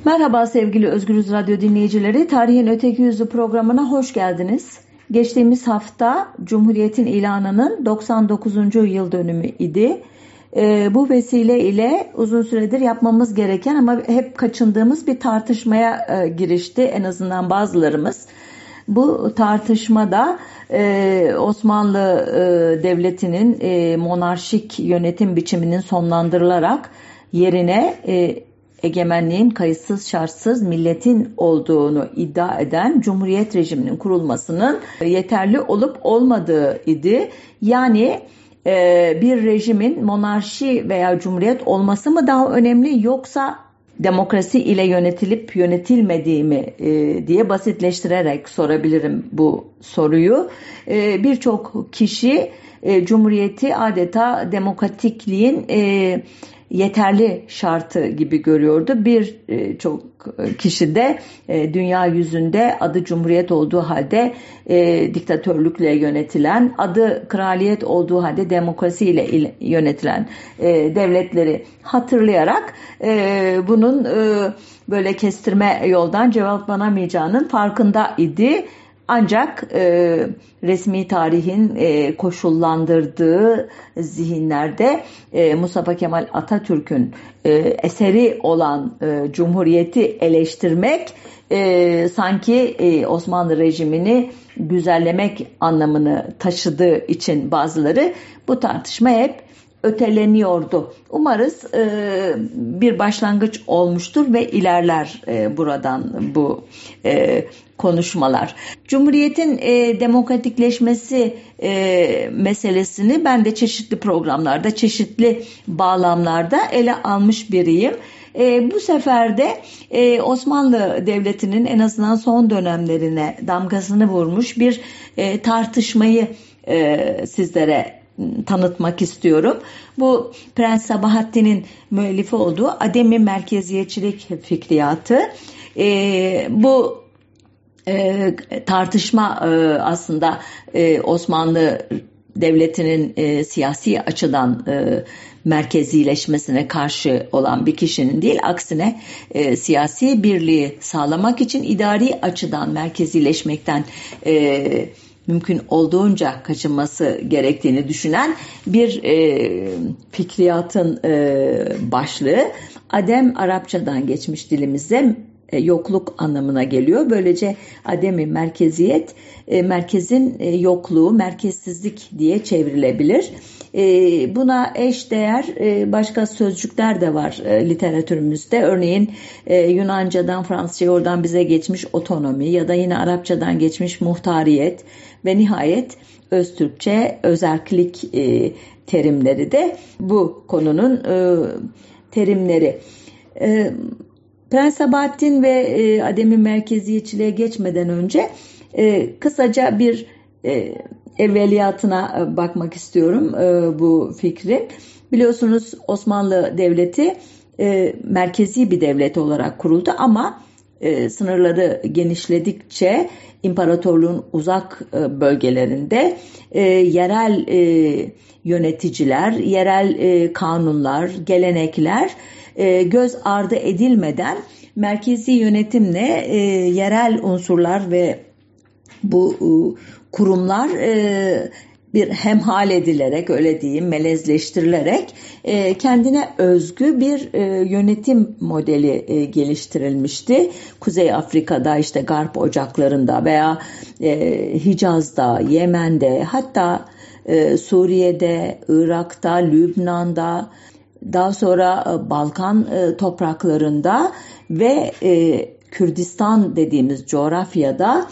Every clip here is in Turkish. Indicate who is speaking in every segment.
Speaker 1: Merhaba sevgili Özgürüz Radyo dinleyicileri, Tarihin Öteki Yüzü programına hoş geldiniz. Geçtiğimiz hafta Cumhuriyet'in ilanının 99. yıl dönümü idi. Bu vesile ile uzun süredir yapmamız gereken ama hep kaçındığımız bir tartışmaya girişti en azından bazılarımız. Bu tartışmada Osmanlı Devleti'nin monarşik yönetim biçiminin sonlandırılarak yerine egemenliğin kayıtsız şartsız milletin olduğunu iddia eden Cumhuriyet rejiminin kurulmasının yeterli olup olmadığı idi. Yani bir rejimin monarşi veya cumhuriyet olması mı daha önemli yoksa demokrasi ile yönetilip yönetilmediği mi diye basitleştirerek sorabilirim bu soruyu. Birçok kişi cumhuriyeti adeta demokratikliğin yeterli şartı gibi görüyordu. Birçok kişi de dünya yüzünde adı cumhuriyet olduğu halde diktatörlükle yönetilen, adı kraliyet olduğu halde demokrasiyle yönetilen devletleri hatırlayarak bunun böyle kestirme yoldan cevaplanamayacağının farkında idi. Ancak resmi tarihin koşullandırdığı zihinlerde Mustafa Kemal Atatürk'ün eseri olan Cumhuriyeti eleştirmek sanki Osmanlı rejimini güzellemek anlamını taşıdığı için bazıları bu tartışma hep öteleniyordu. Umarız bir başlangıç olmuştur ve ilerler buradan bu konuşmalar. Cumhuriyetin demokratikleşmesi meselesini ben de çeşitli programlarda, çeşitli bağlamlarda ele almış biriyim. Bu sefer de Osmanlı Devleti'nin en azından son dönemlerine damgasını vurmuş bir tartışmayı sizlere tanıtmak istiyorum. Bu Prens Sabahattin'in müellifi olduğu Ademi Merkeziyetçilik fikriyatı. Bu tartışma aslında Osmanlı Devleti'nin siyasi açıdan merkezileşmesine karşı olan bir kişinin değil, aksine siyasi birliği sağlamak için idari açıdan merkezileşmekten mümkün olduğunca kaçınması gerektiğini düşünen bir fikriyatın başlığı. Adem Arapçadan geçmiş dilimizde yokluk anlamına geliyor. Böylece ademi merkeziyet, merkezin yokluğu, merkezsizlik diye çevrilebilir. Buna eş değer başka sözcükler de var literatürümüzde. Örneğin Yunanca'dan Fransızca'ya oradan bize geçmiş otonomi ya da yine Arapçadan geçmiş muhtariyet ve nihayet Öztürkçe özerklik terimleri de bu konunun terimleri. Prens Sabahattin ve ademi merkeziyetçiliğe geçmeden önce kısaca bir evveliyatına bakmak istiyorum bu fikri. Biliyorsunuz Osmanlı Devleti merkezi bir devlet olarak kuruldu ama sınırları genişledikçe imparatorluğun uzak bölgelerinde yerel yöneticiler, yerel kanunlar, gelenekler göz ardı edilmeden merkezi yönetimle yerel unsurlar ve bu kurumlar bir hemhal edilerek, öyle diyeyim, melezleştirilerek kendine özgü bir yönetim modeli geliştirilmişti. Kuzey Afrika'da, işte Garp ocaklarında veya Hicaz'da, Yemen'de, hatta Suriye'de, Irak'ta, Lübnan'da, daha sonra Balkan topraklarında ve Kürdistan dediğimiz coğrafyada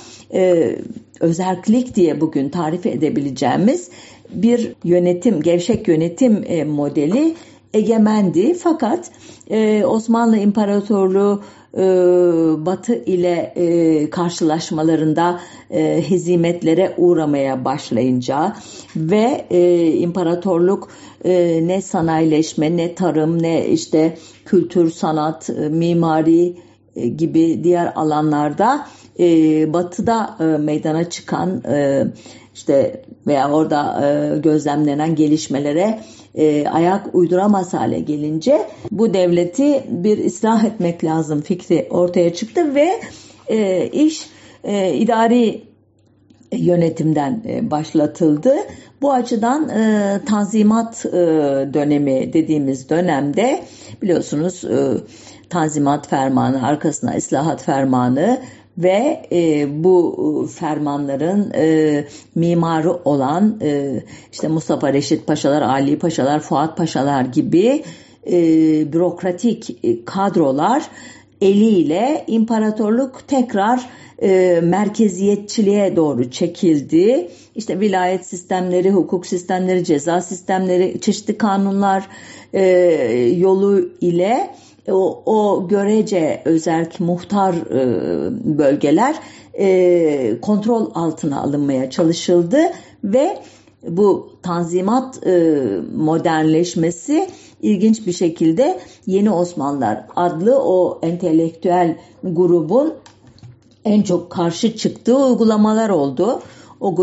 Speaker 1: özerklik diye bugün tarif edebileceğimiz bir yönetim, gevşek yönetim modeli egemendi. Fakat Osmanlı İmparatorluğu Batı ile karşılaşmalarında hezimetlere uğramaya başlayınca ve imparatorluk ne sanayileşme, ne tarım, ne işte kültür, sanat, mimari gibi diğer alanlarda Batı'da meydana çıkan işte veya orada gözlemlenen gelişmelere ayak uyduramaz hale gelince bu devleti bir ıslah etmek lazım fikri ortaya çıktı ve iş idari yönetimden başlatıldı. Bu açıdan Tanzimat dönemi dediğimiz dönemde biliyorsunuz Tanzimat Fermanı, arkasına İslahat Fermanı ve bu fermanların mimarı olan işte Mustafa Reşit Paşalar, Ali Paşalar, Fuat Paşalar gibi bürokratik kadrolar eliyle imparatorluk tekrar merkeziyetçiliğe doğru çekildi. İşte vilayet sistemleri, hukuk sistemleri, ceza sistemleri, çeşitli kanunlar yolu ile o görece özerk muhtar bölgeler kontrol altına alınmaya çalışıldı ve bu Tanzimat modernleşmesi ilginç bir şekilde Yeni Osmanlılar adlı o entelektüel grubun en çok karşı çıktığı uygulamalar oldu. O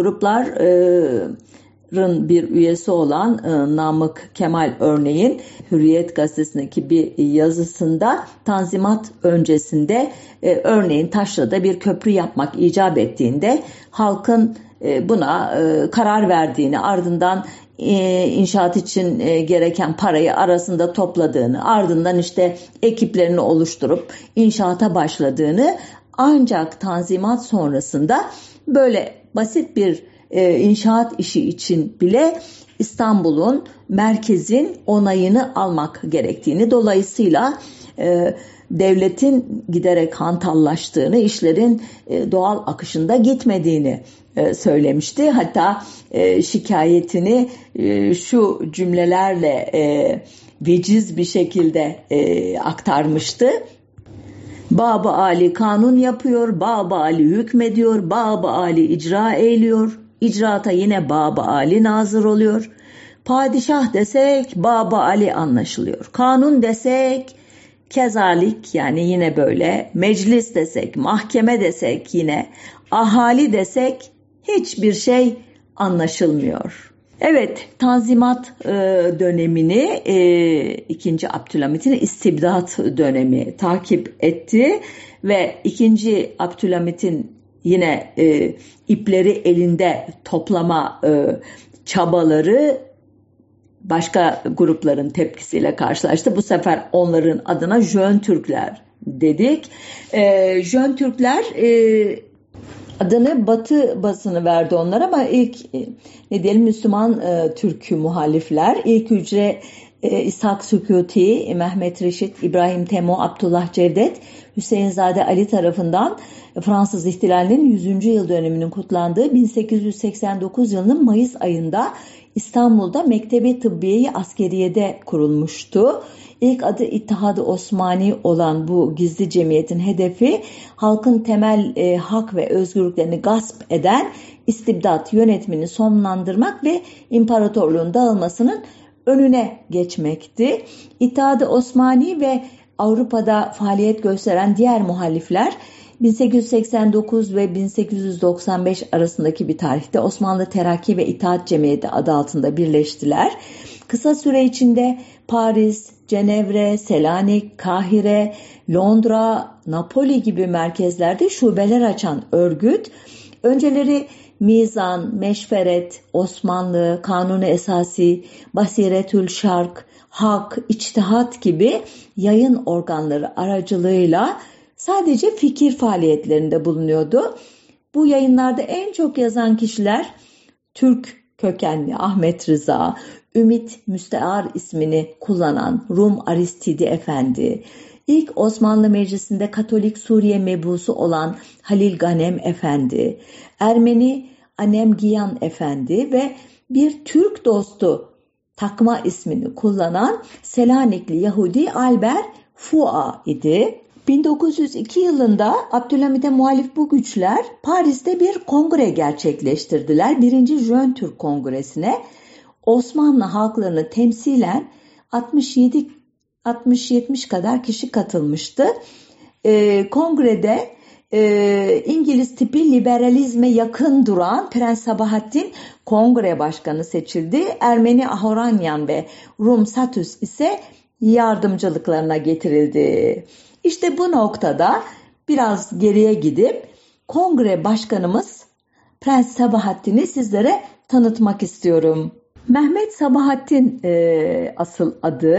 Speaker 1: grupların bir üyesi olan Namık Kemal örneğin Hürriyet gazetesindeki bir yazısında Tanzimat öncesinde örneğin Taşra'da bir köprü yapmak icap ettiğinde halkın buna karar verdiğini, ardından inşaat için gereken parayı arasında topladığını, ardından işte ekiplerini oluşturup inşaata başladığını, ancak Tanzimat sonrasında böyle basit bir inşaat işi için bile İstanbul'un, merkezin onayını almak gerektiğini, dolayısıyla devletin giderek hantallaştığını, işlerin doğal akışında gitmediğini söylemişti. Hatta şikayetini şu cümlelerle veciz bir şekilde aktarmıştı. Bab-ı Ali kanun yapıyor, Bab-ı Ali hükmediyor, Bab-ı Ali icra eyliyor, icraata yine Bab-ı Ali nazır oluyor. Padişah desek Bab-ı Ali anlaşılıyor. Kanun desek kezalik, yani yine böyle, meclis desek, mahkeme desek, yine ahali desek hiçbir şey anlaşılmıyor. Evet, Tanzimat dönemini 2. Abdülhamit'in istibdat dönemi takip etti ve 2. Abdülhamit'in yine ipleri elinde toplama çabaları başka grupların tepkisiyle karşılaştı. Bu sefer onların adına Jön Türkler dedik. Jön Türkler adını Batı basını verdi onlar, ama ilk ne diyelim Müslüman Türk muhalifler, ilk hücre İshak Sükuti, Mehmet Reşit, İbrahim Temo, Abdullah Cevdet, Hüseyinzade Ali tarafından Fransız ihtilalinin 100. yıl dönümünün kutlandığı 1889 yılının Mayıs ayında İstanbul'da Mektebi Tıbbiye-i Askeriye'de kurulmuştu. İlk adı İttihad-ı Osmani olan bu gizli cemiyetin hedefi halkın temel hak ve özgürlüklerini gasp eden istibdat yönetimini sonlandırmak ve imparatorluğun dağılmasının önüne geçmekti. İttihad-ı Osmani ve Avrupa'da faaliyet gösteren diğer muhalifler 1889 ve 1895 arasındaki bir tarihte Osmanlı Terakki ve İttihat Cemiyeti adı altında birleştiler. Kısa süre içinde Paris, Cenevre, Selanik, Kahire, Londra, Napoli gibi merkezlerde şubeler açan örgüt, önceleri Mizan, Meşveret, Osmanlı, Kanuni Esasi, Basiretül Şark, Hak, İçtihat gibi yayın organları aracılığıyla sadece fikir faaliyetlerinde bulunuyordu. Bu yayınlarda en çok yazan kişiler Türk kökenli Ahmet Rıza, Ümit Müstear ismini kullanan Rum Aristidi Efendi, ilk Osmanlı Meclisi'nde Katolik Suriye mebusu olan Halil Ganem Efendi, Ermeni Anemgiyan Efendi ve bir Türk dostu takma ismini kullanan Selanikli Yahudi Albert Fua idi. 1902 yılında Abdülhamit'e muhalif bu güçler Paris'te bir kongre gerçekleştirdiler. 1. Jön Türk Kongresi'ne Osmanlı halklarını temsilen 60-70 kadar kişi katılmıştı. Kongrede İngiliz tipi liberalizme yakın duran Prens Sabahattin kongre başkanı seçildi. Ermeni Ahoranyan ve Rum Satus ise yardımcılıklarına getirildi. İşte bu noktada biraz geriye gidip kongre başkanımız Prens Sabahattin'i sizlere tanıtmak istiyorum. Mehmet Sabahattin asıl adı.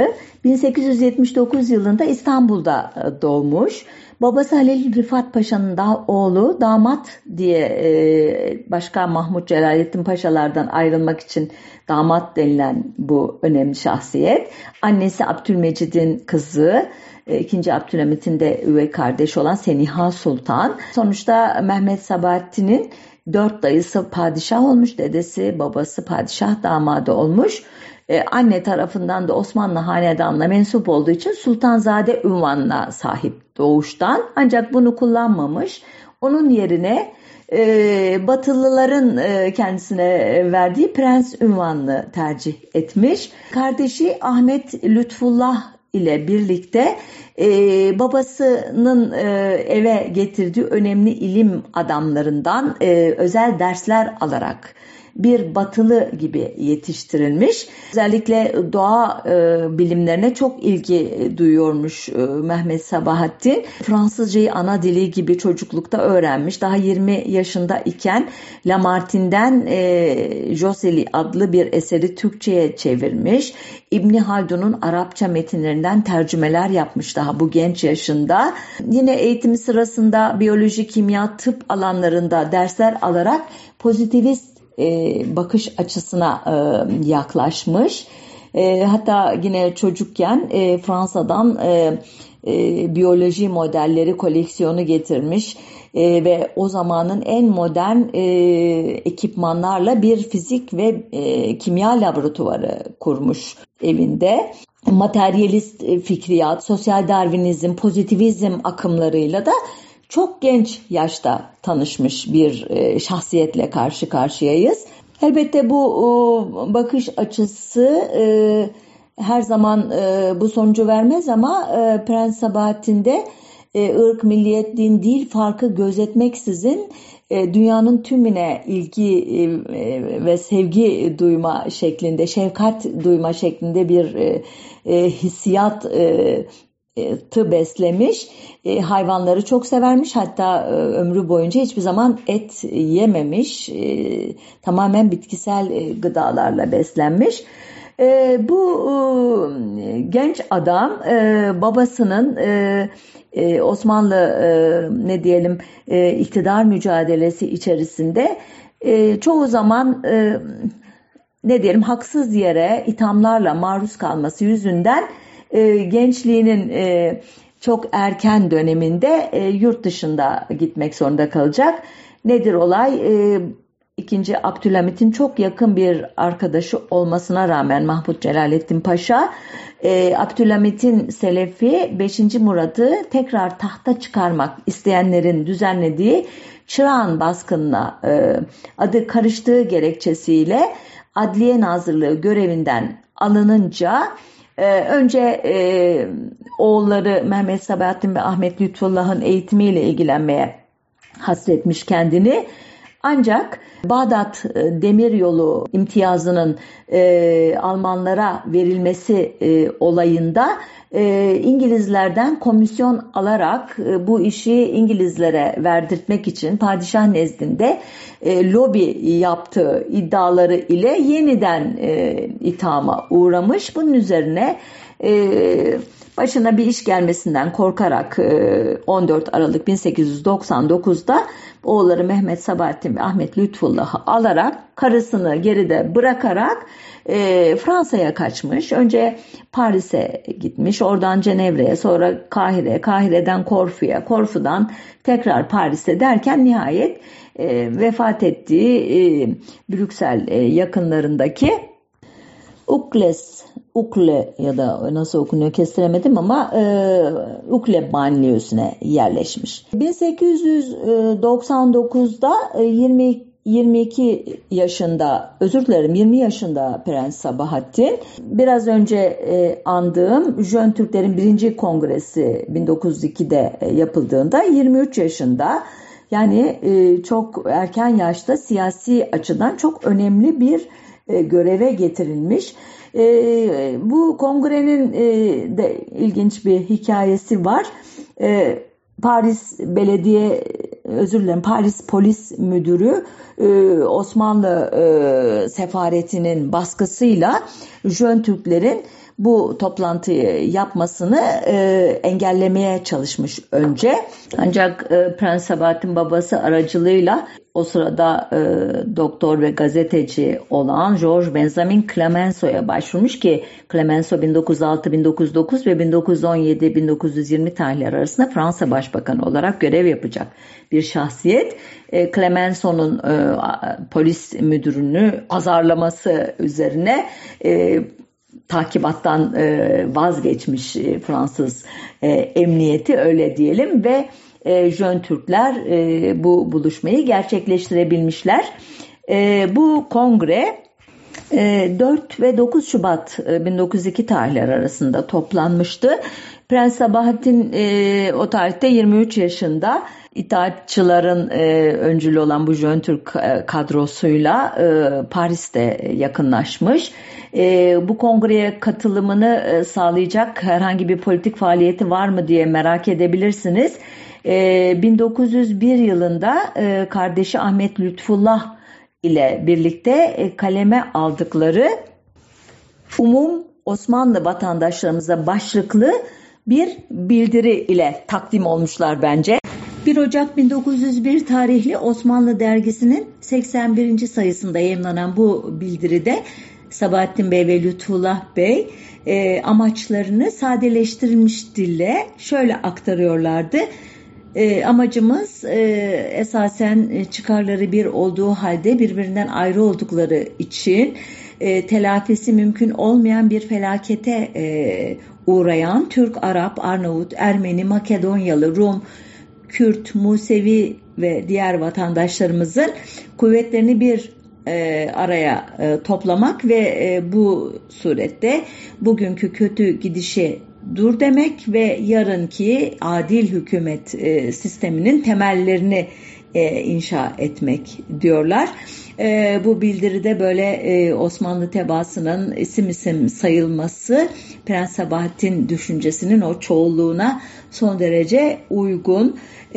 Speaker 1: 1879 yılında İstanbul'da doğmuş. Babası Halil Rıfat Paşa'nın oğlu, damat diye başka Mahmut Celalettin Paşalardan ayrılmak için damat denilen bu önemli şahsiyet. Annesi Abdülmecid'in kızı, 2. Abdülhamit'in de üvey kardeşi olan Seniha Sultan. Sonuçta Mehmet Sabahattin'in 4 dayısı padişah olmuş, dedesi, babası padişah damadı olmuş. Anne tarafından da Osmanlı hanedanına mensup olduğu için Sultanzade unvanına sahip doğuştan. Ancak bunu kullanmamış. Onun yerine Batılıların kendisine verdiği prens unvanını tercih etmiş. Kardeşi Ahmet Lütfullah ile birlikte babasının eve getirdiği önemli ilim adamlarından özel dersler alarak bir batılı gibi yetiştirilmiş. Özellikle doğa bilimlerine çok ilgi duyuyormuş Mehmet Sabahattin. Fransızcayı ana dili gibi çocuklukta öğrenmiş. Daha 20 yaşında iken Lamartine'den Joseli adlı bir eseri Türkçe'ye çevirmiş. İbni Haldun'un Arapça metinlerinden tercümeler yapmış daha bu genç yaşında. Yine eğitimi sırasında biyoloji, kimya, tıp alanlarında dersler alarak pozitivist bakış açısına yaklaşmış. Hatta yine çocukken Fransa'dan biyoloji modelleri koleksiyonu getirmiş ve o zamanın en modern ekipmanlarla bir fizik ve kimya laboratuvarı kurmuş evinde. Materyalist fikriyat, sosyal darwinizm, pozitivizm akımlarıyla da çok genç yaşta tanışmış bir şahsiyetle karşı karşıyayız. Elbette bu bakış açısı her zaman bu sonucu vermez ama Prens Sabahattin'de ırk, milliyet, din, dil farkı gözetmeksizin dünyanın tümüne ilgi ve sevgi duyma şeklinde, şefkat duyma şeklinde bir hissiyat beslemiş. Hayvanları çok severmiş. Hatta ömrü boyunca hiçbir zaman et yememiş. Tamamen bitkisel gıdalarla beslenmiş. Bu genç adam babasının Osmanlı iktidar mücadelesi içerisinde çoğu zaman haksız yere ithamlarla maruz kalması yüzünden gençliğinin çok erken döneminde yurt dışında gitmek zorunda kalacak. Nedir olay? 2. Abdülhamit'in çok yakın bir arkadaşı olmasına rağmen Mahmut Celalettin Paşa, Abdülhamit'in Selefi 5. Murad'ı tekrar tahta çıkarmak isteyenlerin düzenlediği Çırağan baskınına adı karıştığı gerekçesiyle Adliye Nazırlığı görevinden alınınca önce oğulları Mehmet Sabahattin ve Ahmet Lütfullah'ın eğitimiyle ilgilenmeye hasretmiş kendini. Ancak Bağdat Demiryolu imtiyazının Almanlara verilmesi olayında İngilizlerden komisyon alarak bu işi İngilizlere verdirtmek için padişah nezdinde lobi yaptığı iddiaları ile yeniden ithama uğramış. Bunun üzerine başına bir iş gelmesinden korkarak 14 Aralık 1899'da oğulları Mehmet Sabahattin ve Ahmet Lütfullah'ı alarak karısını geride bırakarak Fransa'ya kaçmış. Önce Paris'e gitmiş, oradan Cenevre'ye, sonra Kahire, Kahire'den Korfu'ya, Korfu'dan tekrar Paris'e derken nihayet vefat ettiği Brüksel yakınlarındaki Ukle ya da nasıl okunuyor kestiremedim ama Ukle banliyösüne yerleşmiş. 1899'da 20 yaşında Prens Sabahattin. Biraz önce andığım Jön Türklerin 1. Kongresi 1902'de yapıldığında 23 yaşında. Yani çok erken yaşta siyasi açıdan çok önemli bir göreve getirilmiş. Bu kongrenin de ilginç bir hikayesi var. Paris Polis Müdürü Osmanlı sefaretinin baskısıyla Jön Türklerin bu toplantıyı yapmasını engellemeye çalışmış önce. Ancak Prens Sabahattin babası aracılığıyla o sırada doktor ve gazeteci olan Georges Benjamin Clemenceau'ya başvurmuş ki Clemenceau 1906-1909 ve 1917-1920 tarihleri arasında Fransa Başbakanı olarak görev yapacak bir şahsiyet. Clemenceau'nun polis müdürünü azarlaması üzerine takibattan vazgeçmiş Fransız emniyeti, öyle diyelim, ve Jön Türkler bu buluşmayı gerçekleştirebilmişler. Bu kongre 4 ve 9 Şubat 1902 tarihleri arasında toplanmıştı. Prens Sabahattin o tarihte 23 yaşında. İttihatçıların öncülü olan bu Jön Türk kadrosuyla Paris'te yakınlaşmış. Bu kongreye katılımını sağlayacak herhangi bir politik faaliyeti var mı diye merak edebilirsiniz. 1901 yılında kardeşi Ahmet Lütfullah ile birlikte kaleme aldıkları Umum Osmanlı vatandaşlarımıza başlıklı bir bildiri ile takdim olmuşlar bence. 1 Ocak 1901 tarihli Osmanlı dergisinin 81. sayısında yayımlanan bu bildiride Sabahattin Bey ve Lütfullah Bey amaçlarını sadeleştirilmiş dille şöyle aktarıyorlardı. Amacımız esasen çıkarları bir olduğu halde birbirinden ayrı oldukları için telafisi mümkün olmayan bir felakete uğrayan Türk, Arap, Arnavut, Ermeni, Makedonyalı, Rum, Kürt, Musevi ve diğer vatandaşlarımızın kuvvetlerini bir araya toplamak ve bu surette bugünkü kötü gidişe dur demek ve yarınki adil hükümet sisteminin temellerini inşa etmek diyorlar. Bu bildiride böyle Osmanlı tebaasının isim isim sayılması Prens Sabahattin düşüncesinin o çoğulluğuna son derece uygun.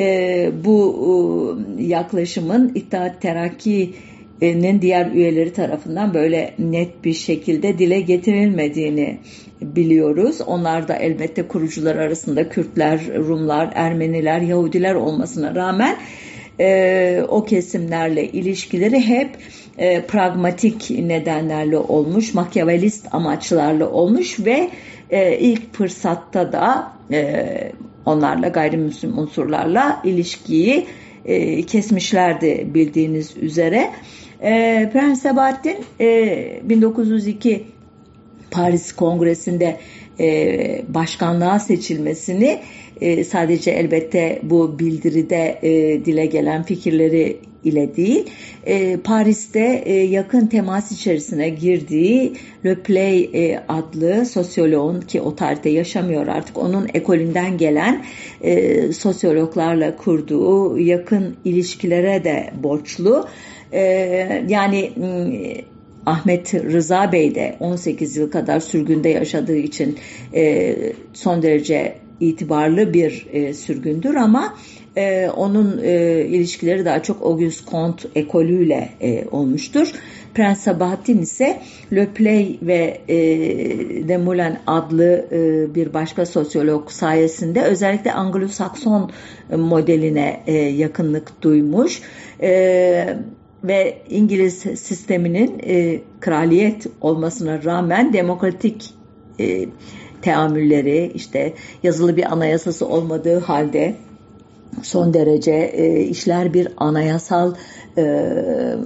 Speaker 1: Bu yaklaşımın İttihat Terakki'nin diğer üyeleri tarafından böyle net bir şekilde dile getirilmediğini biliyoruz. Onlar da elbette kurucular arasında Kürtler, Rumlar, Ermeniler, Yahudiler olmasına rağmen o kesimlerle ilişkileri hep pragmatik nedenlerle olmuş, makyavelist amaçlarla olmuş ve ilk fırsatta da onlarla, gayrimüslim unsurlarla ilişkiyi kesmişlerdi bildiğiniz üzere. Prens Sabahattin 1902 Paris Kongresi'nde başkanlığa seçilmesini sadece elbette bu bildiride dile gelen fikirleri ile değil, Paris'te yakın temas içerisine girdii Le Play adlı sosyoloğun, ki o tarihte yaşamıyor artık, onun ekolünden gelen sosyologlarla kurduğu yakın ilişkilere de borçlu. Yani Ahmet Rıza Bey de 18 yıl kadar sürgünde yaşadığı için son derece itibarlı bir sürgündür ama onun ilişkileri daha çok Auguste Comte ekolüyle olmuştur. Prens Sabahattin ise Le Play ve Desmoulins adlı bir başka sosyolog sayesinde özellikle Anglo-Sakson modeline yakınlık duymuş ve İngiliz sisteminin kraliyet olmasına rağmen demokratik teamülleri, işte yazılı bir anayasası olmadığı halde son derece işler bir anayasal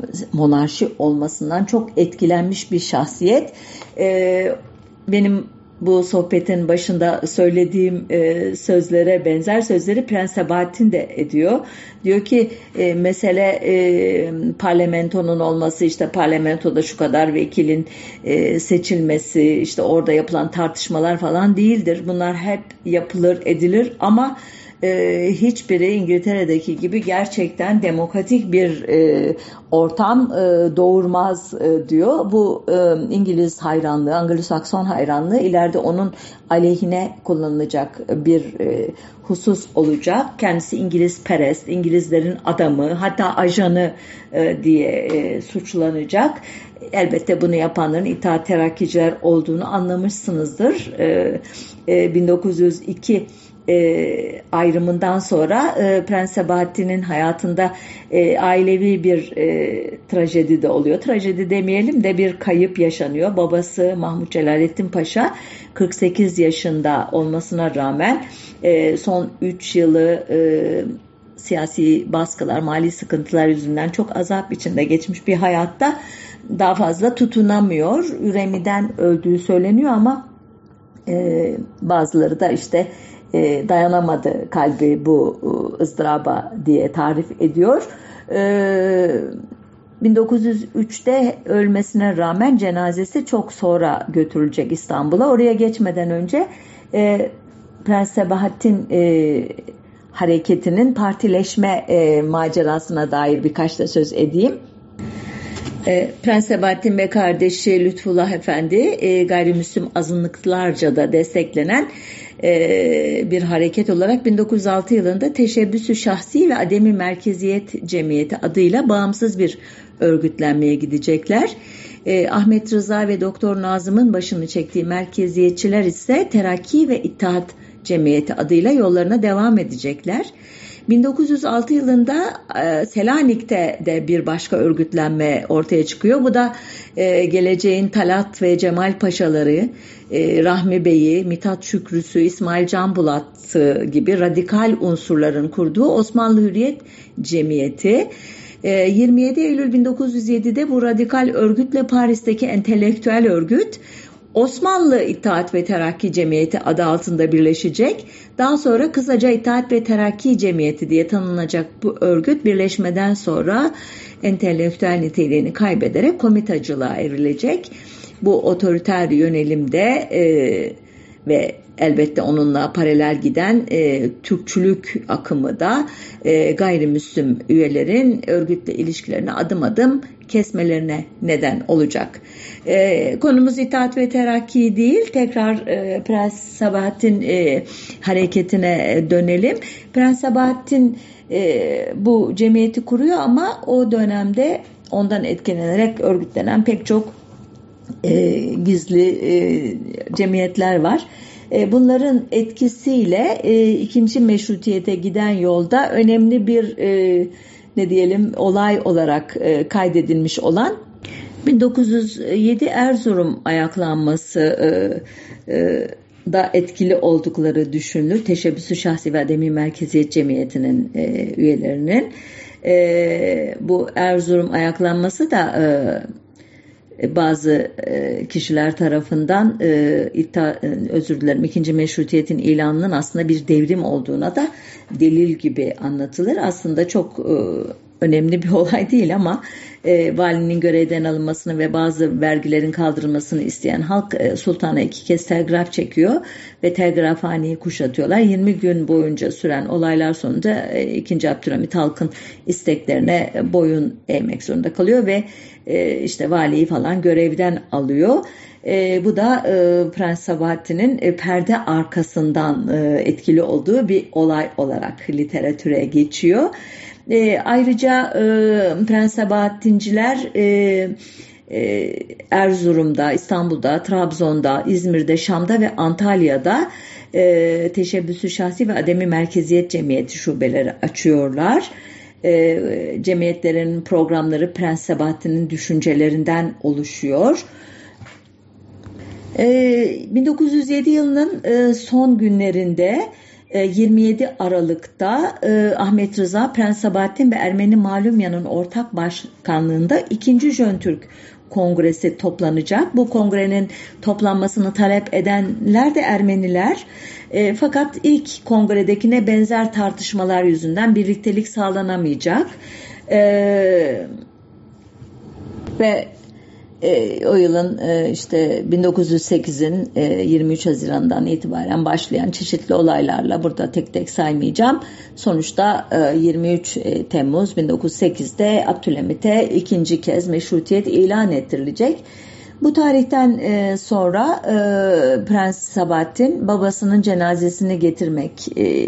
Speaker 1: monarşi olmasından çok etkilenmiş bir şahsiyet. Benim bu sohbetin başında söylediğim sözlere benzer sözleri Prens Sabahattin de ediyor. Diyor ki mesele parlamentonun olması, işte parlamentoda şu kadar vekilin seçilmesi, işte orada yapılan tartışmalar falan değildir. Bunlar hep yapılır, edilir ama hiçbiri İngiltere'deki gibi gerçekten demokratik bir ortam doğurmaz diyor. Bu İngiliz hayranlığı, Anglo-Sakson hayranlığı ileride onun aleyhine kullanılacak bir husus olacak. Kendisi İngilizperest, İngilizlerin adamı, hatta ajanı diye suçlanacak. Elbette bunu yapanların İttihat Terakkiciler olduğunu anlamışsınızdır. 1902 ayrımından sonra Prens Sabahattin'in hayatında ailevi bir trajedi de oluyor. Trajedi demeyelim de bir kayıp yaşanıyor. Babası Mahmut Celalettin Paşa 48 yaşında olmasına rağmen son 3 yılı siyasi baskılar, mali sıkıntılar yüzünden çok azap içinde geçmiş bir hayatta daha fazla tutunamıyor. Üremiden öldüğü söyleniyor ama bazıları da işte dayanamadı kalbi bu ızdıraba diye tarif ediyor. 1903'te ölmesine rağmen cenazesi çok sonra götürülecek İstanbul'a. Oraya geçmeden önce Prens Sabahattin hareketinin partileşme macerasına dair birkaç da söz edeyim. Prens Sabahattin ve kardeşi Lütfullah Efendi gayrimüslim azınlıklarca da desteklenen bir hareket olarak 1906 yılında Teşebbüs-ü Şahsi ve Ademi Merkeziyet Cemiyeti adıyla bağımsız bir örgütlenmeye gidecekler. Ahmet Rıza ve Doktor Nazım'ın başını çektiği merkeziyetçiler ise Terakki ve İttihat Cemiyeti adıyla yollarına devam edecekler. 1906 yılında Selanik'te de bir başka örgütlenme ortaya çıkıyor. Bu da geleceğin Talat ve Cemal Paşaları, Rahmi Bey'i, Mithat Şükrüsü, İsmail Can Bulat'ı gibi radikal unsurların kurduğu Osmanlı Hürriyet Cemiyeti. 27 Eylül 1907'de bu radikal örgütle Paris'teki entelektüel örgüt Osmanlı İttihat ve Terakki Cemiyeti adı altında birleşecek. Daha sonra kısaca İttihat ve Terakki Cemiyeti diye tanınacak bu örgüt birleşmeden sonra entelektüel niteliğini kaybederek komitacılığa evrilecek. Bu otoriter yönelimde ve elbette onunla paralel giden Türkçülük akımı da gayrimüslim üyelerin örgütle ilişkilerini adım adım kesmelerine neden olacak. Konumuz İttihat ve Terakki değil. Tekrar Prens Sabahattin hareketine dönelim. Prens Sabahattin bu cemiyeti kuruyor ama o dönemde ondan etkilenerek örgütlenen pek çok gizli cemiyetler var. Bunların etkisiyle ikinci meşrutiyete giden yolda önemli bir olay olarak kaydedilmiş olan 1907 Erzurum ayaklanması da etkili oldukları düşünülür. Teşebbüs-ü Şahsi ve Ademi Merkeziyet Cemiyeti'nin üyelerinin. Bu Erzurum ayaklanması da bazı kişiler tarafından ikinci meşrutiyetin ilanının aslında bir devrim olduğuna da delil gibi anlatılır. Aslında çok önemli bir olay değil ama valinin görevden alınmasını ve bazı vergilerin kaldırılmasını isteyen halk sultana 2 kez telgraf çekiyor ve telgrafhaneyi kuşatıyorlar. 20 gün boyunca süren olaylar sonunda 2. Abdülhamit halkın isteklerine boyun eğmek zorunda kalıyor ve işte valiyi falan görevden alıyor. Bu da Prens Sabahattin'in perde arkasından etkili olduğu bir olay olarak literatüre geçiyor. Ayrıca Prens Sabahattinciler Erzurum'da, İstanbul'da, Trabzon'da, İzmir'de, Şam'da ve Antalya'da Teşebbüs-ü Şahsi ve Ademi Merkeziyet Cemiyeti şubeleri açıyorlar. Cemiyetlerin programları Prens Sabahattin'in düşüncelerinden oluşuyor. 1907 yılının son günlerinde 27 Aralık'ta Ahmet Rıza, Prens Sabahattin ve Ermeni Malumya'nın ortak başkanlığında 2. Jöntürk kongresi toplanacak. Bu kongrenin toplanmasını talep edenler de Ermeniler. Fakat ilk kongredekine benzer tartışmalar yüzünden birliktelik sağlanamayacak. Ve o yılın işte 1908'in 23 Haziran'dan itibaren başlayan çeşitli olaylarla, burada tek tek saymayacağım. Sonuçta 23 Temmuz 1908'de Abdülhamit'e ikinci kez meşrutiyet ilan ettirilecek. Bu tarihten sonra Prens Sabahattin babasının cenazesini getirmek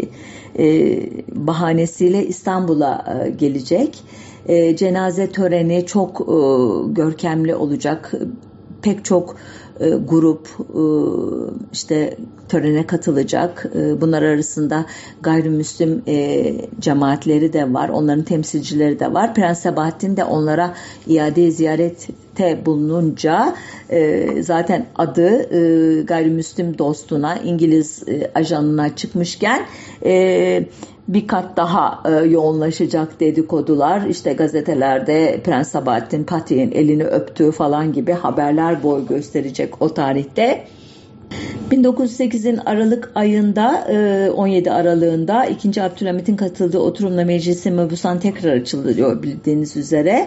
Speaker 1: bahanesiyle İstanbul'a gelecek. Cenaze töreni çok görkemli olacak. Pek çok grup işte törene katılacak. Bunlar arasında gayrimüslim cemaatleri de var. Onların temsilcileri de var. Prens Sabahattin de onlara iade ziyarette bulununca zaten adı gayrimüslim dostuna, İngiliz ajanına çıkmışken bir kat daha yoğunlaşacak dedikodular. İşte gazetelerde Prens Sabahattin Fatih'in elini öptüğü falan gibi haberler boy gösterecek o tarihte. 1908'in Aralık ayında 17 Aralığında 2. Abdülhamit'in katıldığı oturumla Meclis-i Mebusan tekrar açılıyor bildiğiniz üzere.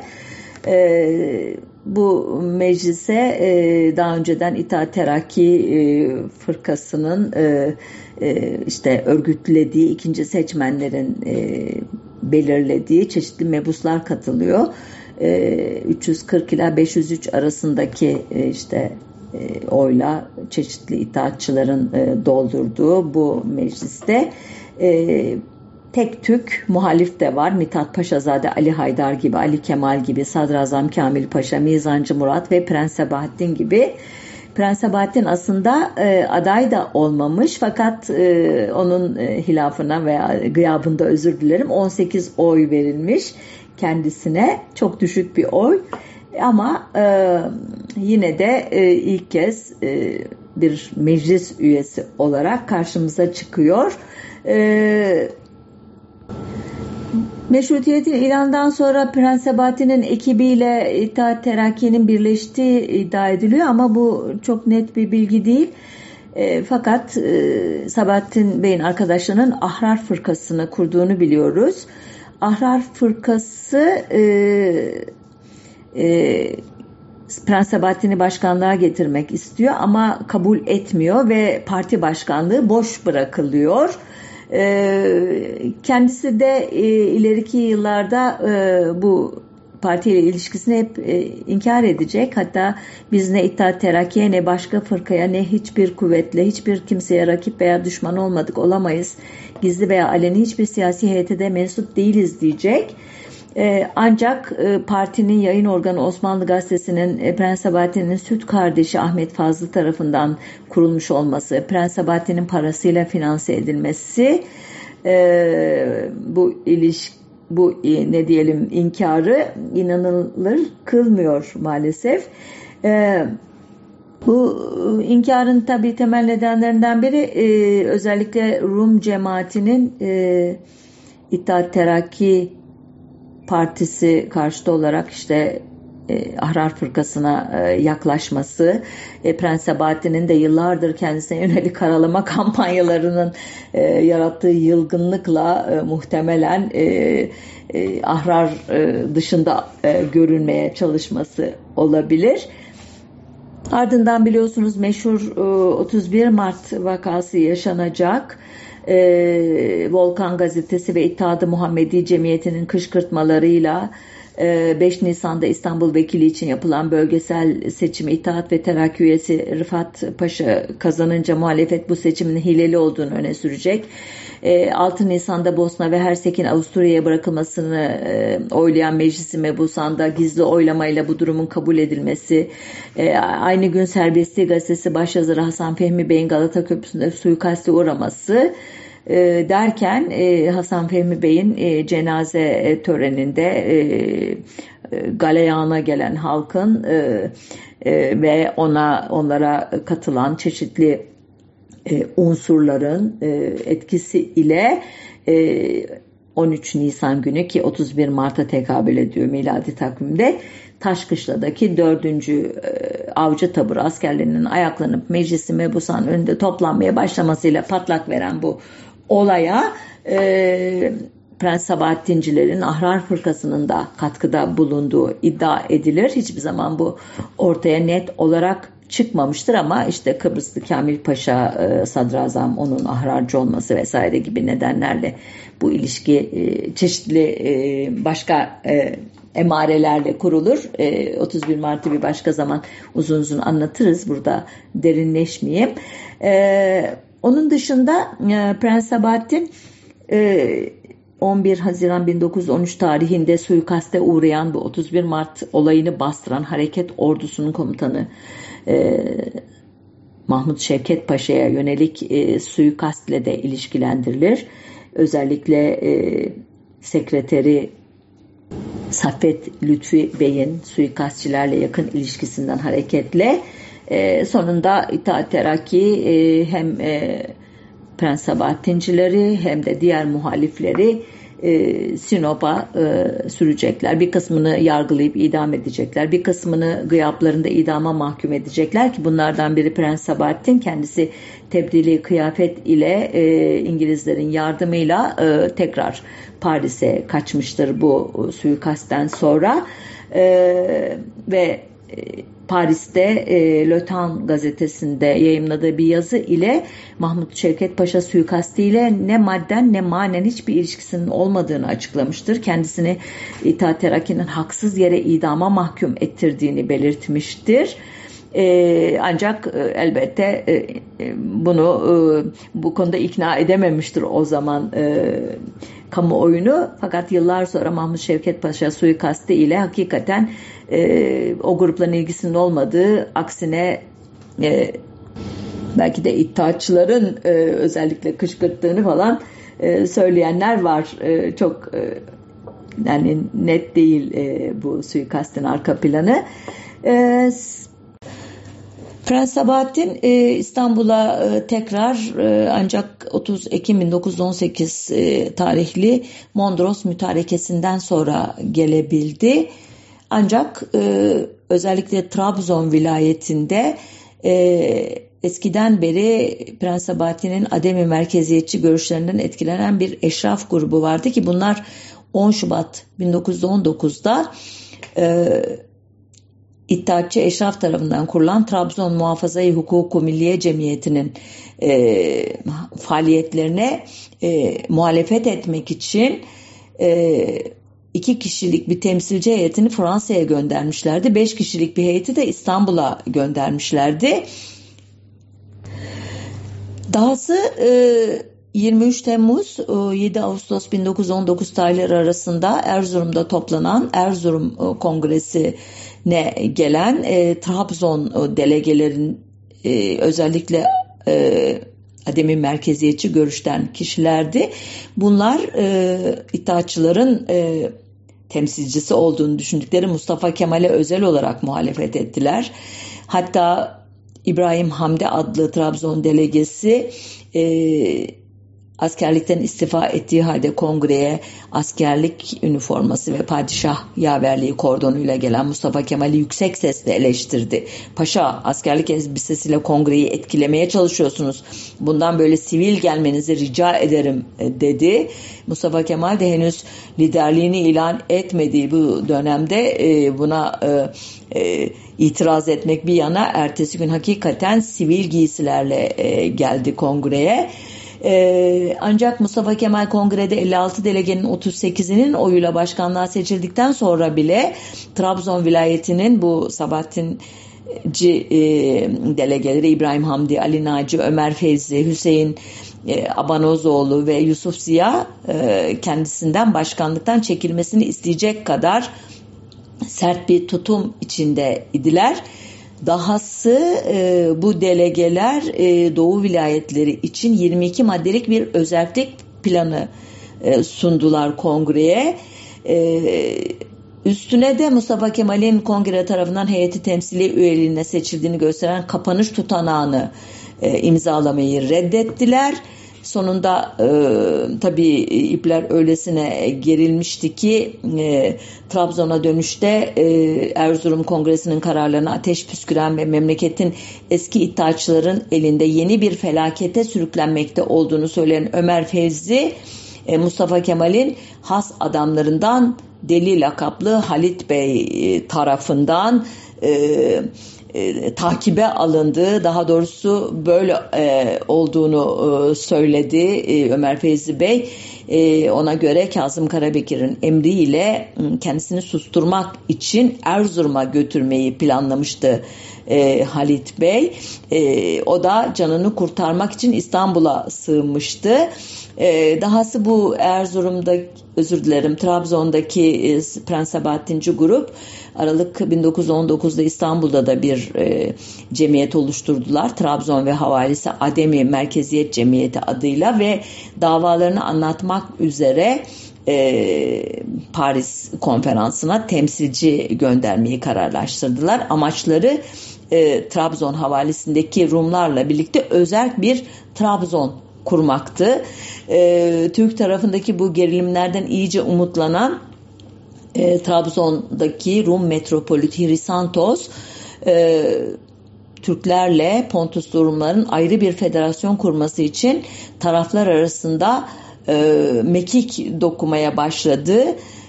Speaker 1: Bu meclise daha önceden İttihat Terakki fırkasının işte örgütlediği, ikinci seçmenlerin belirlediği çeşitli mebuslar katılıyor. 340 ila 503 arasındaki işte oyla çeşitli itaatçıların doldurduğu bu mecliste tek tük muhalif de var. Mithat Paşazade, Ali Haydar gibi, Ali Kemal gibi, Sadrazam Kamil Paşa, Mizancı Murat ve Prens Sabahattin gibi. Prens Sabahattin aslında aday da olmamış, fakat onun hilafına veya gıyabında, özür dilerim, 18 oy verilmiş kendisine. Çok düşük bir oy ama yine de ilk kez bir meclis üyesi olarak karşımıza çıkıyor. Meşrutiyetin ilanından sonra Prens Sabahattin'in ekibiyle İttihat Terakki'nin birleştiği iddia ediliyor ama bu çok net bir bilgi değil. Fakat Sabahattin Bey'in arkadaşlarının Ahrar Fırkası'nı kurduğunu biliyoruz. Ahrar Fırkası Prens Sabahattin'i başkanlığa getirmek istiyor ama kabul etmiyor ve parti başkanlığı boş bırakılıyor. Kendisi de ileriki yıllarda bu partiyle ilişkisini hep inkar edecek. Hatta biz ne İttihat Terakki'ye, ne başka fırkaya, ne hiçbir kuvvetle, hiçbir kimseye rakip veya düşman olmadık, olamayız. Gizli veya aleni hiçbir siyasi heyete de mensup değiliz diyecek. Ancak partinin yayın organı Osmanlı Gazetesi'nin Prens Sabahattin'in süt kardeşi Ahmet Fazlı tarafından kurulmuş olması, Prens Sabahattin'in parasıyla finanse edilmesi, bu ne diyelim inkarı inanılır kılmıyor maalesef. Bu inkarın tabii temel nedenlerinden biri özellikle Rum cemaatinin İttihat Terakki Partisi karşıtı olarak işte Ahrar Fırkası'na yaklaşması, Prens Sabahattin'in de yıllardır kendisine yönelik karalama kampanyalarının yarattığı yılgınlıkla muhtemelen Ahrar dışında görünmeye çalışması olabilir. Ardından biliyorsunuz meşhur 31 Mart vakası yaşanacak. Volkan Gazetesi ve İttihat-ı Muhammedi Cemiyeti'nin kışkırtmalarıyla 5 Nisan'da İstanbul Vekili için yapılan bölgesel seçimi İttihat ve Terakki üyesi Rıfat Paşa kazanınca muhalefet bu seçimin hileli olduğunu öne sürecek. 6 Nisan'da Bosna ve Hersek'in Avusturya'ya bırakılmasını oylayan Meclis-i Mebusan'da gizli oylamayla bu durumun kabul edilmesi, aynı gün Serbestliği Gazetesi başyazarı Hasan Fehmi Bey'in Galata Köprüsü'nde suikaste uğraması derken Hasan Fehmi Bey'in cenaze töreninde galeyana gelen halkın ve onlara katılan çeşitli unsurların etkisi ile 13 Nisan günü, ki 31 Mart'a tekabül ediyor miladi takvimde, Taşkışla'daki 4. Avcı Taburu askerlerinin ayaklanıp Meclis-i Mebusan önünde toplanmaya başlamasıyla patlak veren bu olaya Prens Sabahattincilerin Ahrar Fırkası'nın da katkıda bulunduğu iddia edilir. Hiçbir zaman bu ortaya net olarak çıkmamıştır ama işte Kıbrıslı Kamil Paşa sadrazam, onun ahrarcı olması vesaire gibi nedenlerle bu ilişki çeşitli başka emarelerle kurulur. 31 Mart'ı bir başka zaman uzun uzun anlatırız. Burada derinleşmeyeyim. Onun dışında Prens Sabahattin 11 Haziran 1913 tarihinde suikaste uğrayan bu 31 Mart olayını bastıran hareket ordusunun komutanı Mahmut Şevket Paşa'ya yönelik suikastle de ilişkilendirilir. Özellikle sekreteri Saffet Lütfi Bey'in suikastçilerle yakın ilişkisinden hareketle sonunda İttihat Terakki hem Prens Sabahattincileri hem de diğer muhalifleri Sinop'a sürecekler. Bir kısmını yargılayıp idam edecekler. Bir kısmını gıyaplarında idama mahkum edecekler ki bunlardan biri Prens Sabahattin, kendisi tebdili kıyafet ile İngilizlerin yardımıyla tekrar Paris'e kaçmıştır bu suikastten sonra ve Paris'te Le Temps gazetesinde yayımladığı bir yazı ile Mahmut Şevket Paşa suikastiyle ne madden ne manen hiçbir ilişkisinin olmadığını açıklamıştır. Kendisini İttihat Terakki'nin haksız yere idama mahkum ettirdiğini belirtmiştir. Ancak elbette bu konuda ikna edememiştir o zaman kamuoyunu. Fakat yıllar sonra Mahmut Şevket Paşa suikastı ile hakikaten o grupların ilgisinin olmadığı, aksine belki de İttihatçıların özellikle kışkırttığını falan söyleyenler var. Çok yani net değil bu suikastın arka planı. Prens Sabahattin İstanbul'a tekrar ancak 30 Ekim 1918 tarihli Mondros Mütarekesi'nden sonra gelebildi. Ancak özellikle Trabzon vilayetinde eskiden beri Prens Sabahattin'in ademi merkeziyetçi görüşlerinden etkilenen bir eşraf grubu vardı ki bunlar 10 Şubat 1919'da İttihatçı Eşraf tarafından kurulan Trabzon Muhafaza-i Hukuku Milliye Cemiyeti'nin faaliyetlerine muhalefet etmek için 2 kişilik bir temsilci heyetini Fransa'ya göndermişlerdi. 5 kişilik bir heyeti de İstanbul'a göndermişlerdi. Dahası 23 Temmuz 7 Ağustos 1919 tarihleri arasında Erzurum'da toplanan Erzurum Kongresi'ne gelen Trabzon delegelerin özellikle ademi merkeziyetçi görüşten kişilerdi. Bunlar İttihatçıların temsilcisi olduğunu düşündükleri Mustafa Kemal'e özel olarak muhalefet ettiler. Hatta İbrahim Hamdi adlı Trabzon delegesi askerlikten istifa ettiği halde kongreye askerlik üniforması ve padişah yaverliği kordonuyla gelen Mustafa Kemal'i yüksek sesle eleştirdi. Paşa, askerlik elbisesiyle kongreyi etkilemeye çalışıyorsunuz. Bundan böyle sivil gelmenizi rica ederim dedi. Mustafa Kemal de henüz liderliğini ilan etmediği bu dönemde buna itiraz etmek bir yana ertesi gün hakikaten sivil giysilerle geldi kongreye. Ancak Mustafa Kemal kongrede 56 delegenin 38'inin oyuyla başkanlığa seçildikten sonra bile Trabzon vilayetinin bu Sabahattinci delegeleri İbrahim Hamdi, Ali Naci, Ömer Feyzi, Hüseyin Abanozoğlu ve Yusuf Ziya kendisinden başkanlıktan çekilmesini isteyecek kadar sert bir tutum içinde idiler. Dahası bu delegeler Doğu vilayetleri için 22 maddelik bir özellik planı sundular kongreye. Üstüne de Mustafa Kemal'in kongre tarafından heyeti temsili üyeliğine seçildiğini gösteren kapanış tutanağını imzalamayı reddettiler. Sonunda tabii ipler öylesine gerilmişti ki Trabzon'a dönüşte Erzurum Kongresi'nin kararlarına ateş püsküren ve memleketin eski iddiaçıların elinde yeni bir felakete sürüklenmekte olduğunu söyleyen Ömer Fevzi, Mustafa Kemal'in has adamlarından Deli lakaplı Halit Bey tarafından takibe alındığı, daha doğrusu böyle olduğunu söyledi Ömer Fevzi Bey. Ona göre Kazım Karabekir'in emriyle kendisini susturmak için Erzurum'a götürmeyi planlamıştı Halit Bey. O da canını kurtarmak için İstanbul'a sığınmıştı. Dahası bu Trabzon'daki Prens Sabahattinci grup Aralık 1919'da İstanbul'da da bir cemiyet oluşturdular. Trabzon ve Havalisi Ademi Merkeziyet Cemiyeti adıyla ve davalarını anlatmak üzere Paris konferansına temsilci göndermeyi kararlaştırdılar. Amaçları Trabzon havalisindeki Rumlarla birlikte özerk bir Trabzon kurmaktı. Türk tarafındaki bu gerilimlerden iyice umutlanan Trabzon'daki Rum metropoliti Hrisantos Türklerle Pontuslu Rumların ayrı bir federasyon kurması için taraflar arasında mekik dokumaya başladı.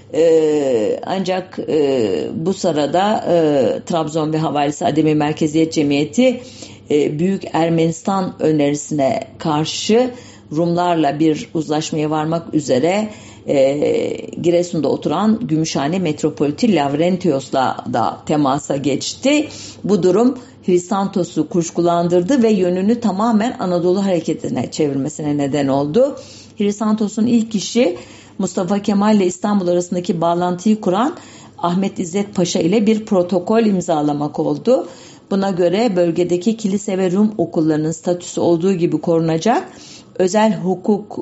Speaker 1: Ancak bu sırada Trabzon ve Havalisi Ademi Merkeziyet Cemiyeti Büyük Ermenistan önerisine karşı Rumlarla bir uzlaşmaya varmak üzere Giresun'da oturan Gümüşhane Metropoliti Lavrentios'la da temasa geçti. Bu durum Hristantos'u kuşkulandırdı ve yönünü tamamen Anadolu hareketine çevirmesine neden oldu. Hristantos'un ilk işi Mustafa Kemal ile İstanbul arasındaki bağlantıyı kuran Ahmet İzzet Paşa ile bir protokol imzalamak oldu. Buna göre bölgedeki kilise ve Rum okullarının statüsü olduğu gibi korunacak, özel hukuk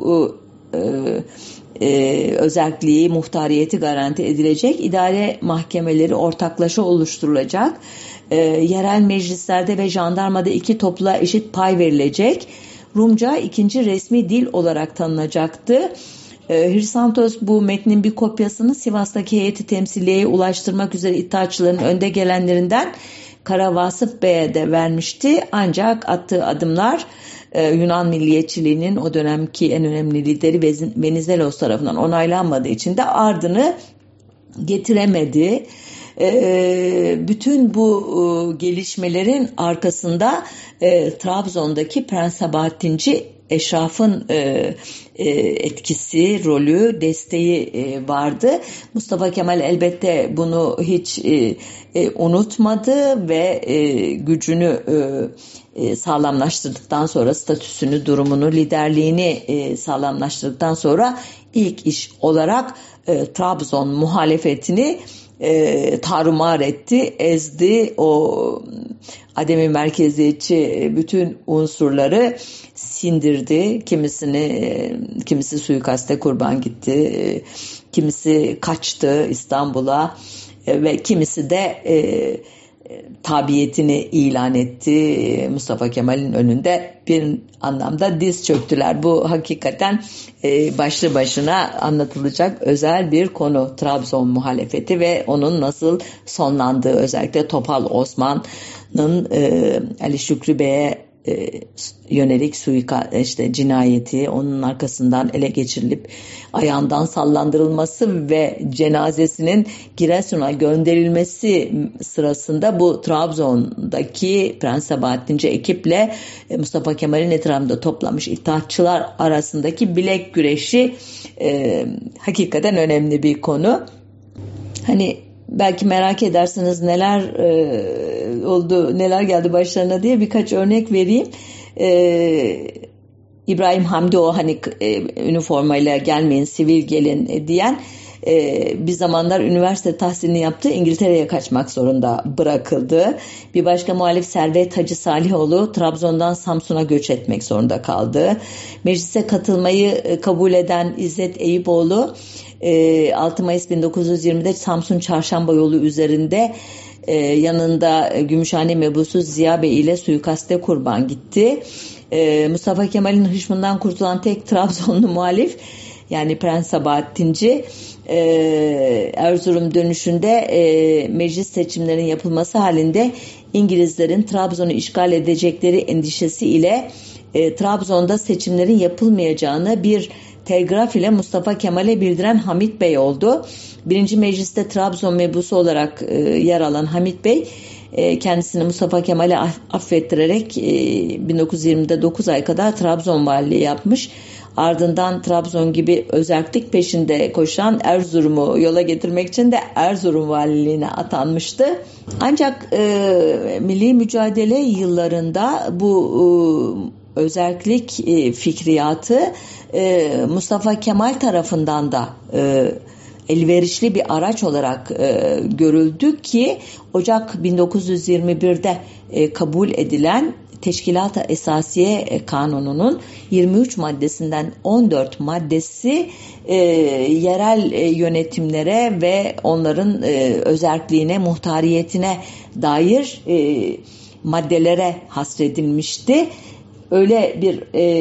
Speaker 1: özelliği, muhtariyeti garanti edilecek, idare mahkemeleri ortaklaşa oluşturulacak, yerel meclislerde ve jandarmada iki topluluğa eşit pay verilecek, Rumca ikinci resmi dil olarak tanınacaktı. Hrisantos bu metnin bir kopyasını Sivas'taki heyeti temsiliyeye ulaştırmak üzere iddiaçıların önde gelenlerinden Kara Vasıf Bey'e de vermişti. Ancak attığı adımlar Yunan milliyetçiliğinin o dönemki en önemli lideri Venizelos tarafından onaylanmadığı için de ardını getiremedi. Bütün bu gelişmelerin arkasında Trabzon'daki Prens Sabahattinci eşrafın etkisi, rolü, desteği vardı. Mustafa Kemal elbette bunu hiç unutmadı ve gücünü sağlamlaştırdıktan sonra, statüsünü, durumunu, liderliğini sağlamlaştırdıktan sonra ilk iş olarak Trabzon muhalefetini tarumar etti, ezdi. O ademi merkeziyetçi bütün unsurları sindirdi. Kimisi suikaste kurban gitti, kimisi kaçtı İstanbul'a ve kimisi de tabiyetini ilan etti. Mustafa Kemal'in önünde bir anlamda diz çöktüler. Bu hakikaten başlı başına anlatılacak özel bir konu. Trabzon muhalefeti ve onun nasıl sonlandığı, özellikle Topal Osman'ın Ali Şükrü Bey'e yönelik cinayeti, onun arkasından ele geçirilip ayağından sallandırılması ve cenazesinin Giresun'a gönderilmesi sırasında bu Trabzon'daki Prens Sabahattinci ekiple Mustafa Kemal'in etrafında toplamış İttihatçılar arasındaki bilek güreşi hakikaten önemli bir konu. Hani belki merak edersiniz neler oldu, neler geldi başlarına diye birkaç örnek vereyim. İbrahim Hamdi, o hani üniformayla gelmeyin, sivil gelin diyen, bir zamanlar üniversite tahsilini yaptı, İngiltere'ye kaçmak zorunda bırakıldı. Bir başka muhalif Servet Hacı Salihoğlu Trabzon'dan Samsun'a göç etmek zorunda kaldı. Meclise katılmayı kabul eden İzzet Eyüboğlu 6 Mayıs 1920'de Samsun Çarşamba yolu üzerinde yanında Gümüşhane mebusu Ziya Bey ile suikaste kurban gitti. Mustafa Kemal'in hışmından kurtulan tek Trabzonlu muhalif, yani Prens Sabahattinci, Erzurum dönüşünde meclis seçimlerinin yapılması halinde İngilizlerin Trabzon'u işgal edecekleri endişesi ile Trabzon'da seçimlerin yapılmayacağını bir telgraf ile Mustafa Kemal'e bildiren Hamit Bey oldu. Birinci Meclis'te Trabzon mebusu olarak yer alan Hamit Bey kendisini Mustafa Kemal'e affettirerek 1920'de 9 ay kadar Trabzon valiliği yapmış. Ardından Trabzon gibi özerklik peşinde koşan Erzurum'u yola getirmek için de Erzurum valiliğine atanmıştı. Ancak milli mücadele yıllarında bu özerklik fikriyatı Mustafa Kemal tarafından da elverişli bir araç olarak görüldü ki Ocak 1921'de kabul edilen Teşkilat-ı Esasiye Kanunu'nun 23 maddesinden 14 maddesi yerel yönetimlere ve onların özerkliğine, muhtariyetine dair maddelere hasredilmişti. Öyle bir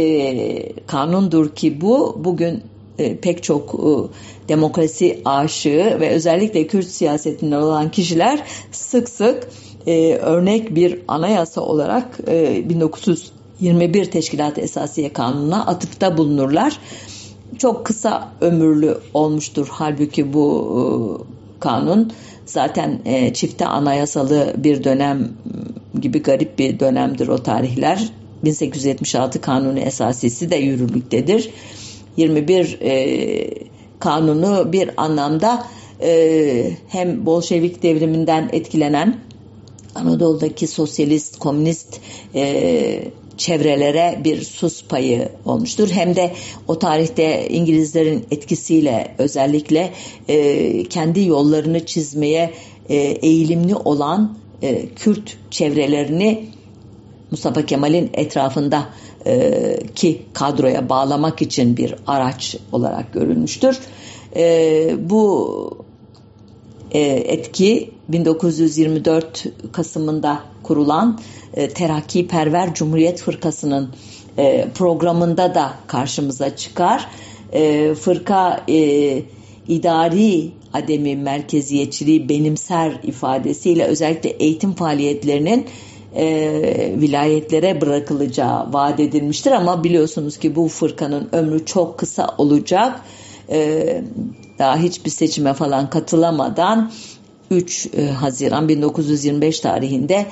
Speaker 1: kanundur ki bugün pek çok demokrasi aşığı ve özellikle Kürt siyasetinden olan kişiler sık sık örnek bir anayasa olarak 1921 Teşkilat-ı Esasiye Kanunu'na atıfta bulunurlar. Çok kısa ömürlü olmuştur halbuki bu kanun. Zaten çifte anayasalı bir dönem gibi garip bir dönemdir o tarihler. 1876 Kanunu Esasisi de yürürlüktedir. 21 kanunu bir anlamda hem Bolşevik devriminden etkilenen Anadolu'daki sosyalist, komünist çevrelere bir sus payı olmuştur. Hem de o tarihte İngilizlerin etkisiyle özellikle kendi yollarını çizmeye eğilimli olan Kürt çevrelerini Mustafa Kemal'in etrafında ki kadroya bağlamak için bir araç olarak görülmüştür. Bu etki 1924 Kasım'ında kurulan Terakkiperver Cumhuriyet Fırkası'nın programında da karşımıza çıkar. Fırka idari ademi merkeziyetçiliği benimser ifadesiyle özellikle eğitim faaliyetlerinin vilayetlere bırakılacağı vaat edilmiştir ama biliyorsunuz ki bu fırkanın ömrü çok kısa olacak. Daha hiçbir seçime falan katılamadan 3 Haziran 1925 tarihinde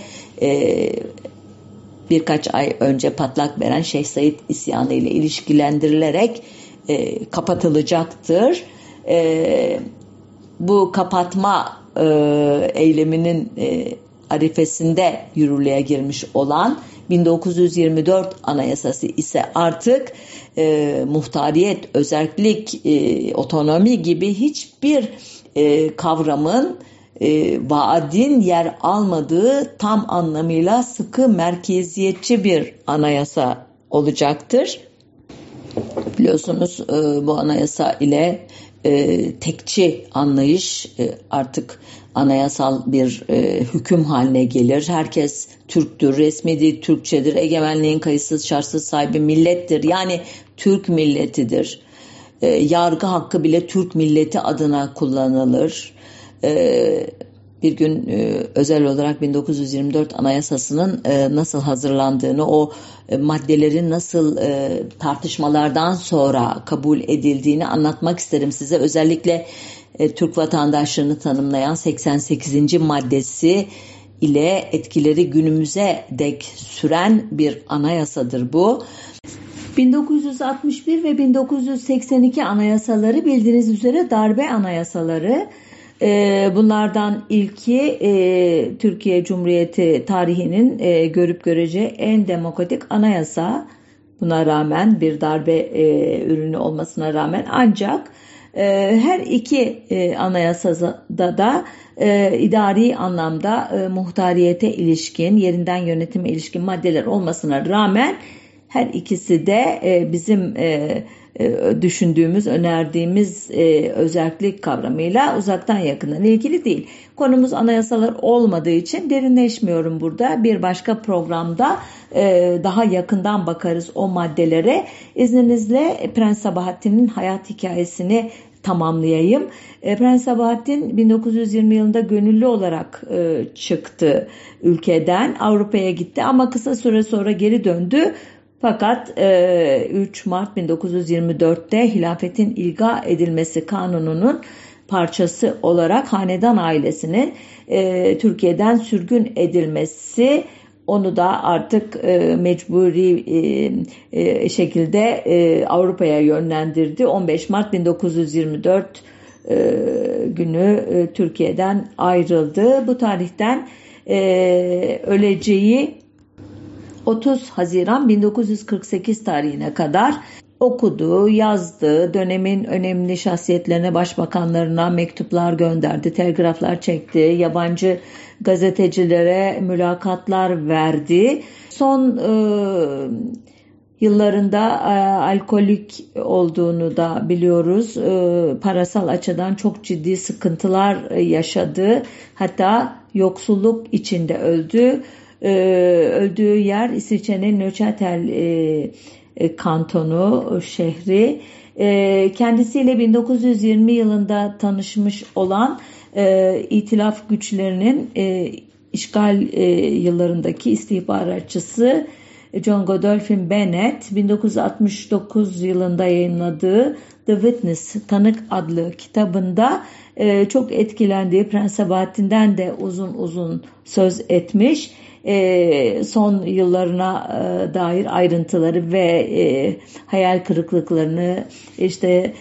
Speaker 1: birkaç ay önce patlak veren Şeyh Said isyanı ile ilişkilendirilerek kapatılacaktır. Bu kapatma eyleminin arifesinde yürürlüğe girmiş olan 1924 Anayasası ise artık muhtariyet, özerklik, otonomi gibi hiçbir kavramın, vaadin yer almadığı tam anlamıyla sıkı merkeziyetçi bir anayasa olacaktır. Biliyorsunuz bu anayasa ile tekçi anlayış artık anayasal bir hüküm haline gelir. Herkes Türktür, resmi dil Türkçedir, egemenliğin kayıtsız şartsız sahibi millettir. Yani Türk milletidir. Yargı hakkı bile Türk milleti adına kullanılır. Bir gün özel olarak 1924 Anayasası'nın nasıl hazırlandığını, o maddelerin nasıl tartışmalardan sonra kabul edildiğini anlatmak isterim size. Özellikle Türk vatandaşlığını tanımlayan 88. maddesi ile etkileri günümüze dek süren bir anayasadır bu. 1961 ve 1982 anayasaları bildiğiniz üzere darbe anayasaları. Bunlardan ilki Türkiye Cumhuriyeti tarihinin görüp göreceği en demokratik anayasa. Buna rağmen bir darbe ürünü olmasına rağmen ancak her iki anayasada da idari anlamda muhtariyete ilişkin, yerinden yönetime ilişkin maddeler olmasına rağmen her ikisi de bizim düşündüğümüz, önerdiğimiz özerklik kavramıyla uzaktan yakından ilgili değil. Konumuz anayasalar olmadığı için derinleşmiyorum burada. Bir başka programda daha yakından bakarız o maddelere. İzninizle Prens Sabahattin'in hayat hikayesini tamamlayayım. Prens Sabahattin 1920 yılında gönüllü olarak çıktı ülkeden. Avrupa'ya gitti ama kısa süre sonra geri döndü. Fakat 3 Mart 1924'te hilafetin ilga edilmesi kanununun parçası olarak hanedan ailesinin Türkiye'den sürgün edilmesi onu da artık mecburi şekilde Avrupa'ya yönlendirdi. 15 Mart 1924 günü Türkiye'den ayrıldı. Bu tarihten öleceği 30 Haziran 1948 tarihine kadar okudu, yazdı, dönemin önemli şahsiyetlerine, başbakanlarına mektuplar gönderdi, telgraflar çekti, yabancı gazetecilere mülakatlar verdi. Son yıllarında alkolik olduğunu da biliyoruz. Parasal açıdan çok ciddi sıkıntılar yaşadı. Hatta yoksulluk içinde öldü. Öldüğü yer İsviçre'nin Neuchâtel kantonu, şehri. Kendisiyle 1920 yılında tanışmış olan İtilaf güçlerinin işgal yıllarındaki istihbaratçısı John Godolphin Bennett 1969 yılında yayınladığı The Witness, Tanık adlı kitabında çok etkilendiği Prens Sabahattin'den de uzun uzun söz etmiş. Son yıllarına dair ayrıntıları ve hayal kırıklıklarını, işte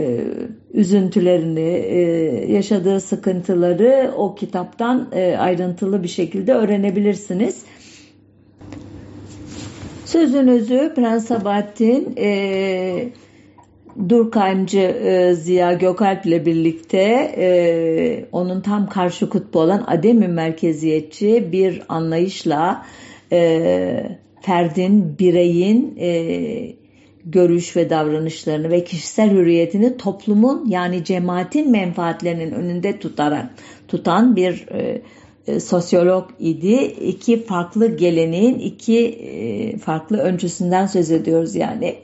Speaker 1: üzüntülerini, yaşadığı sıkıntıları o kitaptan ayrıntılı bir şekilde öğrenebilirsiniz. Sözün özü Prens Sabahattin Durkheimci Ziya Gökalp ile birlikte onun tam karşı kutbu olan ademi merkeziyetçi bir anlayışla ferdin, bireyin görüş ve davranışlarını ve kişisel hürriyetini toplumun yani cemaatin menfaatlerinin önünde tutan bir sosyolog idi. İki farklı geleneğin iki farklı öncüsünden söz ediyoruz yani.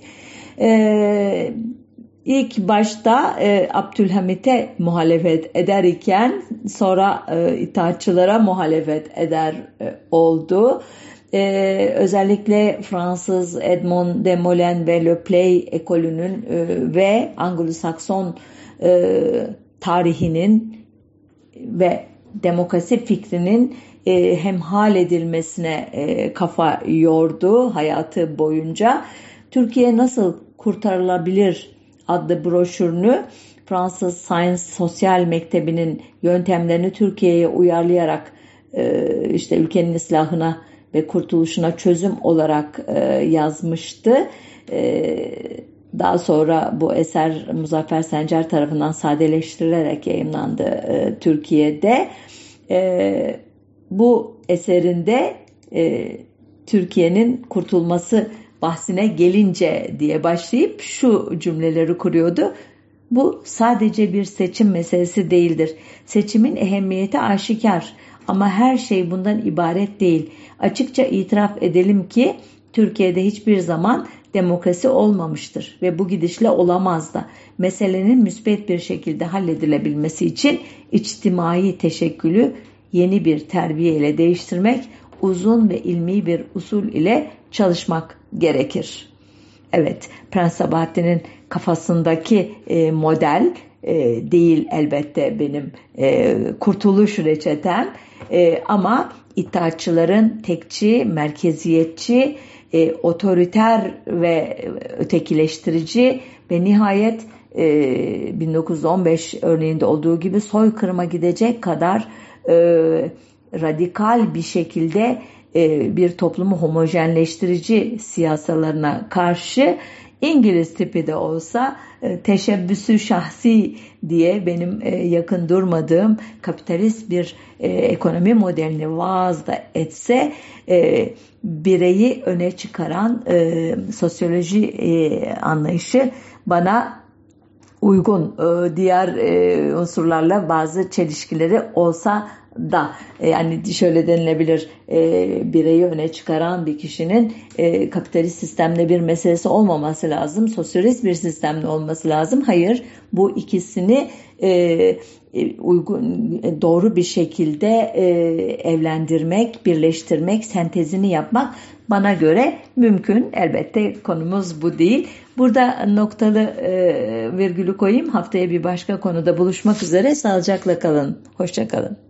Speaker 1: İlk başta Abdülhamit'e muhalefet eder iken sonra itaatçılara muhalefet eder oldu. Özellikle Fransız Edmond de Molène ve Le Play ekolünün ve Anglo-Sakson tarihinin ve demokrasi fikrinin hemhal edilmesine kafa yordu hayatı boyunca. Türkiye nasıl kurtarılabilir adlı broşürünü Fransız Science Sosyal Mektebi'nin yöntemlerini Türkiye'ye uyarlayarak işte ülkenin islahına ve kurtuluşuna çözüm olarak yazmıştı. Daha sonra bu eser Muzaffer Sencer tarafından sadeleştirilerek yayımlandı Türkiye'de. Bu eserinde Türkiye'nin kurtulması bahsine gelince diye başlayıp şu cümleleri kuruyordu. Bu sadece bir seçim meselesi değildir. Seçimin ehemmiyeti aşikar ama her şey bundan ibaret değil. Açıkça itiraf edelim ki Türkiye'de hiçbir zaman demokrasi olmamıştır ve bu gidişle olamaz da. Meselenin müspet bir şekilde halledilebilmesi için içtimai teşekkülü yeni bir terbiye ile değiştirmek, uzun ve ilmi bir usul ile çalışmak gerekir. Evet, Prens Sabahattin'in kafasındaki model değil elbette benim kurtuluş reçetem ama itaatçıların tekçi, merkeziyetçi, otoriter ve ötekileştirici ve nihayet 1915 örneğinde olduğu gibi soykırıma gidecek kadar radikal bir şekilde bir toplumu homojenleştirici siyasalarına karşı İngiliz tipi de olsa teşebbüsü şahsi diye benim yakın durmadığım kapitalist bir ekonomi modelini vaaz da etse bireyi öne çıkaran sosyoloji anlayışı bana uygun, diğer unsurlarla bazı çelişkileri olsa da yani şöyle denilebilir, bireyi öne çıkaran bir kişinin kapitalist sistemde bir meselesi olmaması lazım, sosyalist bir sistemde olması lazım. Hayır, bu ikisini uygun, doğru bir şekilde evlendirmek, birleştirmek, sentezini yapmak bana göre mümkün. Elbette konumuz bu değil. Burada noktalı virgülü koyayım. Haftaya bir başka konuda buluşmak üzere. Sağlıcakla kalın. Hoşça kalın.